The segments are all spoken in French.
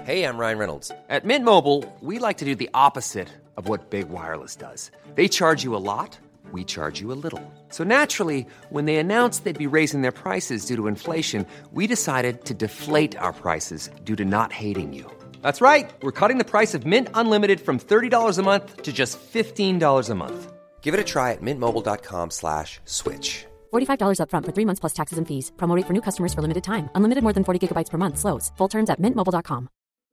Hey, I'm Ryan Reynolds. At Mint Mobile, we like to do the opposite of what Big Wireless does. They charge you a lot, we charge you a little. So naturally, when they announced they'd be raising their prices due to inflation, we decided to deflate our prices due to not hating you. That's right. We're cutting the price of Mint Unlimited from $30 a month to just $15 a month. Give it a try at mintmobile.com/switch. $45 up front for 3 months plus taxes and fees. Promo rate for new customers for limited time. Unlimited more than 40 gigabytes per month. Slows full terms at mintmobile.com.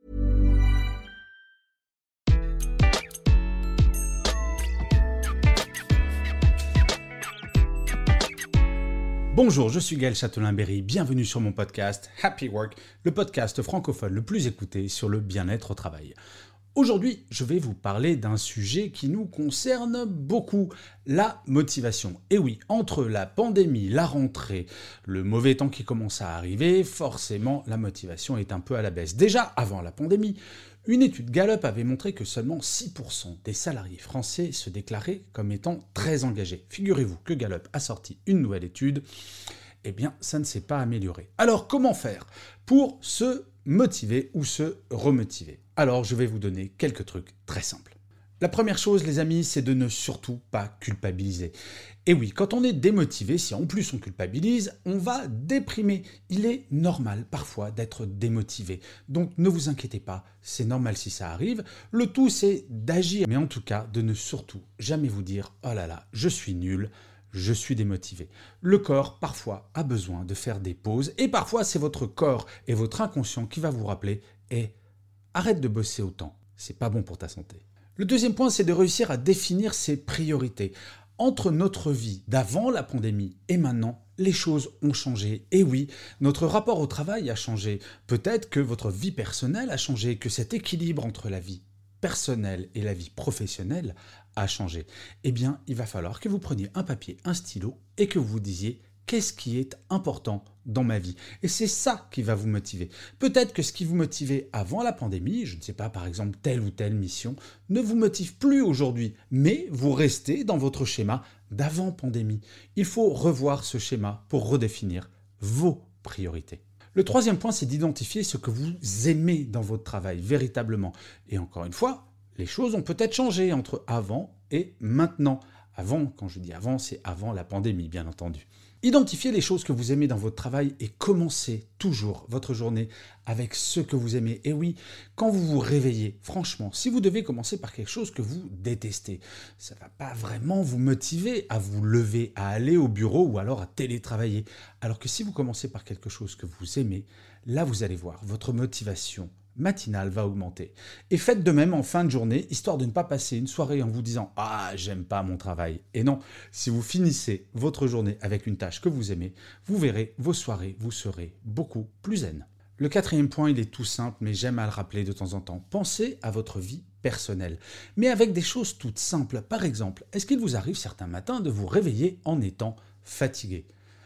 Bonjour, je suis Gaël Châtelain-Berry, bienvenue sur mon podcast Happy Work, le podcast francophone le plus écouté sur le bien-être au travail. Aujourd'hui, je vais vous parler d'un sujet qui nous concerne beaucoup, la motivation. Et oui, entre la pandémie, la rentrée, le mauvais temps qui commence à arriver, forcément la motivation est un peu à la baisse. Déjà, avant la pandémie, une étude Gallup avait montré que seulement 6% des salariés français se déclaraient comme étant très engagés. Figurez-vous que Gallup a sorti une nouvelle étude, eh bien ça ne s'est pas amélioré. Alors comment faire pour se motiver ou se remotiver ? Alors je vais vous donner quelques trucs très simples. La première chose, les amis, c'est de ne surtout pas culpabiliser. Et oui, quand on est démotivé, si en plus on culpabilise, on va déprimer. Il est normal parfois d'être démotivé. Donc ne vous inquiétez pas, c'est normal si ça arrive. Le tout, c'est d'agir, mais en tout cas, de ne surtout jamais vous dire « Oh là là, je suis nul ». Je suis démotivé. Le corps, parfois, a besoin de faire des pauses et parfois, c'est votre corps et votre inconscient qui va vous rappeler « Hé, arrête de bosser autant, c'est pas bon pour ta santé ». Le deuxième point, c'est de réussir à définir ses priorités. Entre notre vie d'avant la pandémie et maintenant, les choses ont changé. Et oui, notre rapport au travail a changé. Peut-être que votre vie personnelle a changé, que cet équilibre entre la vie personnelle et la vie professionnelle a changé. Eh bien, il va falloir que vous preniez un papier, un stylo et que vous vous disiez qu'est-ce qui est important dans ma vie. Et c'est ça qui va vous motiver. Peut-être que ce qui vous motivait avant la pandémie, je ne sais pas, par exemple, telle ou telle mission, ne vous motive plus aujourd'hui, mais vous restez dans votre schéma d'avant pandémie. Il faut revoir ce schéma pour redéfinir vos priorités. Le troisième point, c'est d'identifier ce que vous aimez dans votre travail, véritablement. Et encore une fois, les choses ont peut-être changé entre avant et maintenant. Avant, quand je dis avant, c'est avant la pandémie, bien entendu. Identifiez les choses que vous aimez dans votre travail et commencez toujours votre journée avec ce que vous aimez. Et oui, quand vous vous réveillez, franchement, si vous devez commencer par quelque chose que vous détestez, ça ne va pas vraiment vous motiver à vous lever, à aller au bureau ou alors à télétravailler. Alors que si vous commencez par quelque chose que vous aimez, là vous allez voir, votre motivation matinale va augmenter. Et faites de même en fin de journée, histoire de ne pas passer une soirée en vous disant « Ah, j'aime pas mon travail ». Et non, si vous finissez votre journée avec une tâche que vous aimez, vous verrez, vos soirées, vous serez beaucoup plus zen. Le quatrième point, il est tout simple, mais j'aime à le rappeler de temps en temps. Pensez à votre vie personnelle, mais avec des choses toutes simples. Par exemple, est-ce qu'il vous arrive certains matins de vous réveiller en étant fatigué ?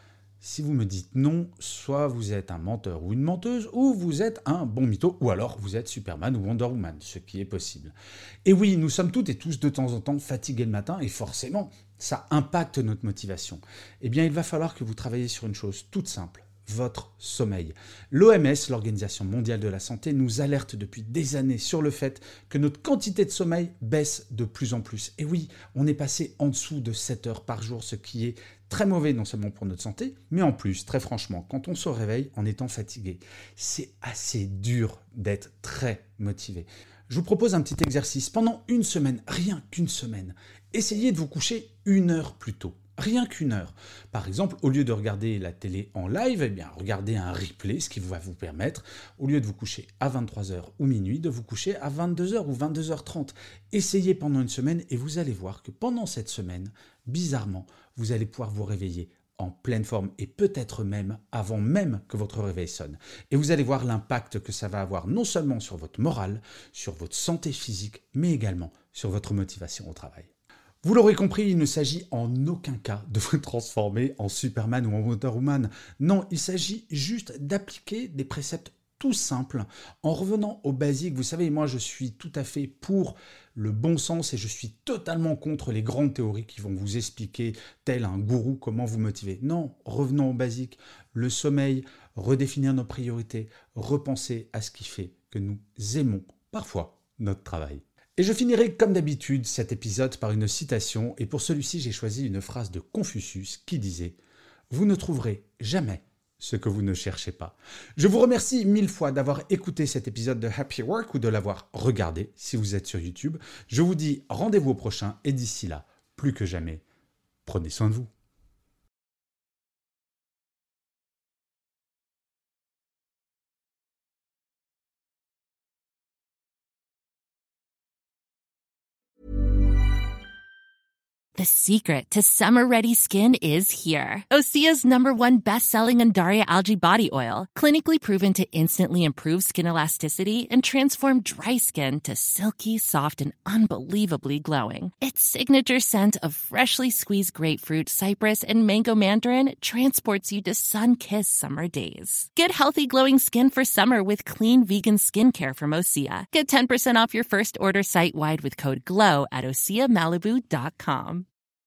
Si vous me dites non, soit vous êtes un menteur ou une menteuse, ou vous êtes un bon mytho, ou alors vous êtes Superman ou Wonder Woman, ce qui est possible. Et oui, nous sommes toutes et tous de temps en temps fatigués le matin, et forcément, ça impacte notre motivation. Eh bien, il va falloir que vous travailliez sur une chose toute simple, votre sommeil. L'OMS, l'Organisation mondiale de la santé, nous alerte depuis des années sur le fait que notre quantité de sommeil baisse de plus en plus. Et oui, on est passé en dessous de 7 heures par jour, ce qui est très mauvais non seulement pour notre santé, mais en plus, très franchement, quand on se réveille en étant fatigué, c'est assez dur d'être très motivé. Je vous propose un petit exercice. Pendant une semaine, rien qu'une semaine, essayez de vous coucher 1 heure plus tôt. Rien qu'1 heure. Par exemple, au lieu de regarder la télé en live, eh bien, regardez un replay, ce qui va vous permettre, au lieu de vous coucher à 23h ou minuit, de vous coucher à 22h ou 22h30. Essayez pendant une semaine et vous allez voir que pendant cette semaine, bizarrement, vous allez pouvoir vous réveiller en pleine forme et peut-être même avant même que votre réveil sonne. Et vous allez voir l'impact que ça va avoir non seulement sur votre morale, sur votre santé physique, mais également sur votre motivation au travail. Vous l'aurez compris, il ne s'agit en aucun cas de vous transformer en Superman ou en Wonder Woman. Non, il s'agit juste d'appliquer des préceptes tout simples en revenant aux basiques. Vous savez, moi je suis tout à fait pour le bon sens et je suis totalement contre les grandes théories qui vont vous expliquer, tel un gourou, comment vous motiver. Non, revenons aux basiques. Le sommeil, redéfinir nos priorités, repenser à ce qui fait que nous aimons parfois notre travail. Et je finirai comme d'habitude cet épisode par une citation, et pour celui-ci j'ai choisi une phrase de Confucius qui disait « Vous ne trouverez jamais ce que vous ne cherchez pas ». Je vous remercie 1000 fois d'avoir écouté cet épisode de Happy Work ou de l'avoir regardé si vous êtes sur YouTube. Je vous dis rendez-vous au prochain et d'ici là, plus que jamais, prenez soin de vous. The secret to summer-ready skin is here. Osea's #1 best-selling Undaria Algae Body Oil, clinically proven to instantly improve skin elasticity and transform dry skin to silky, soft, and unbelievably glowing. Its signature scent of freshly squeezed grapefruit, cypress, and mango mandarin transports you to sun-kissed summer days. Get healthy, glowing skin for summer with clean vegan skincare from Osea. Get 10% off your first order site-wide with code GLOW at OseaMalibu.com.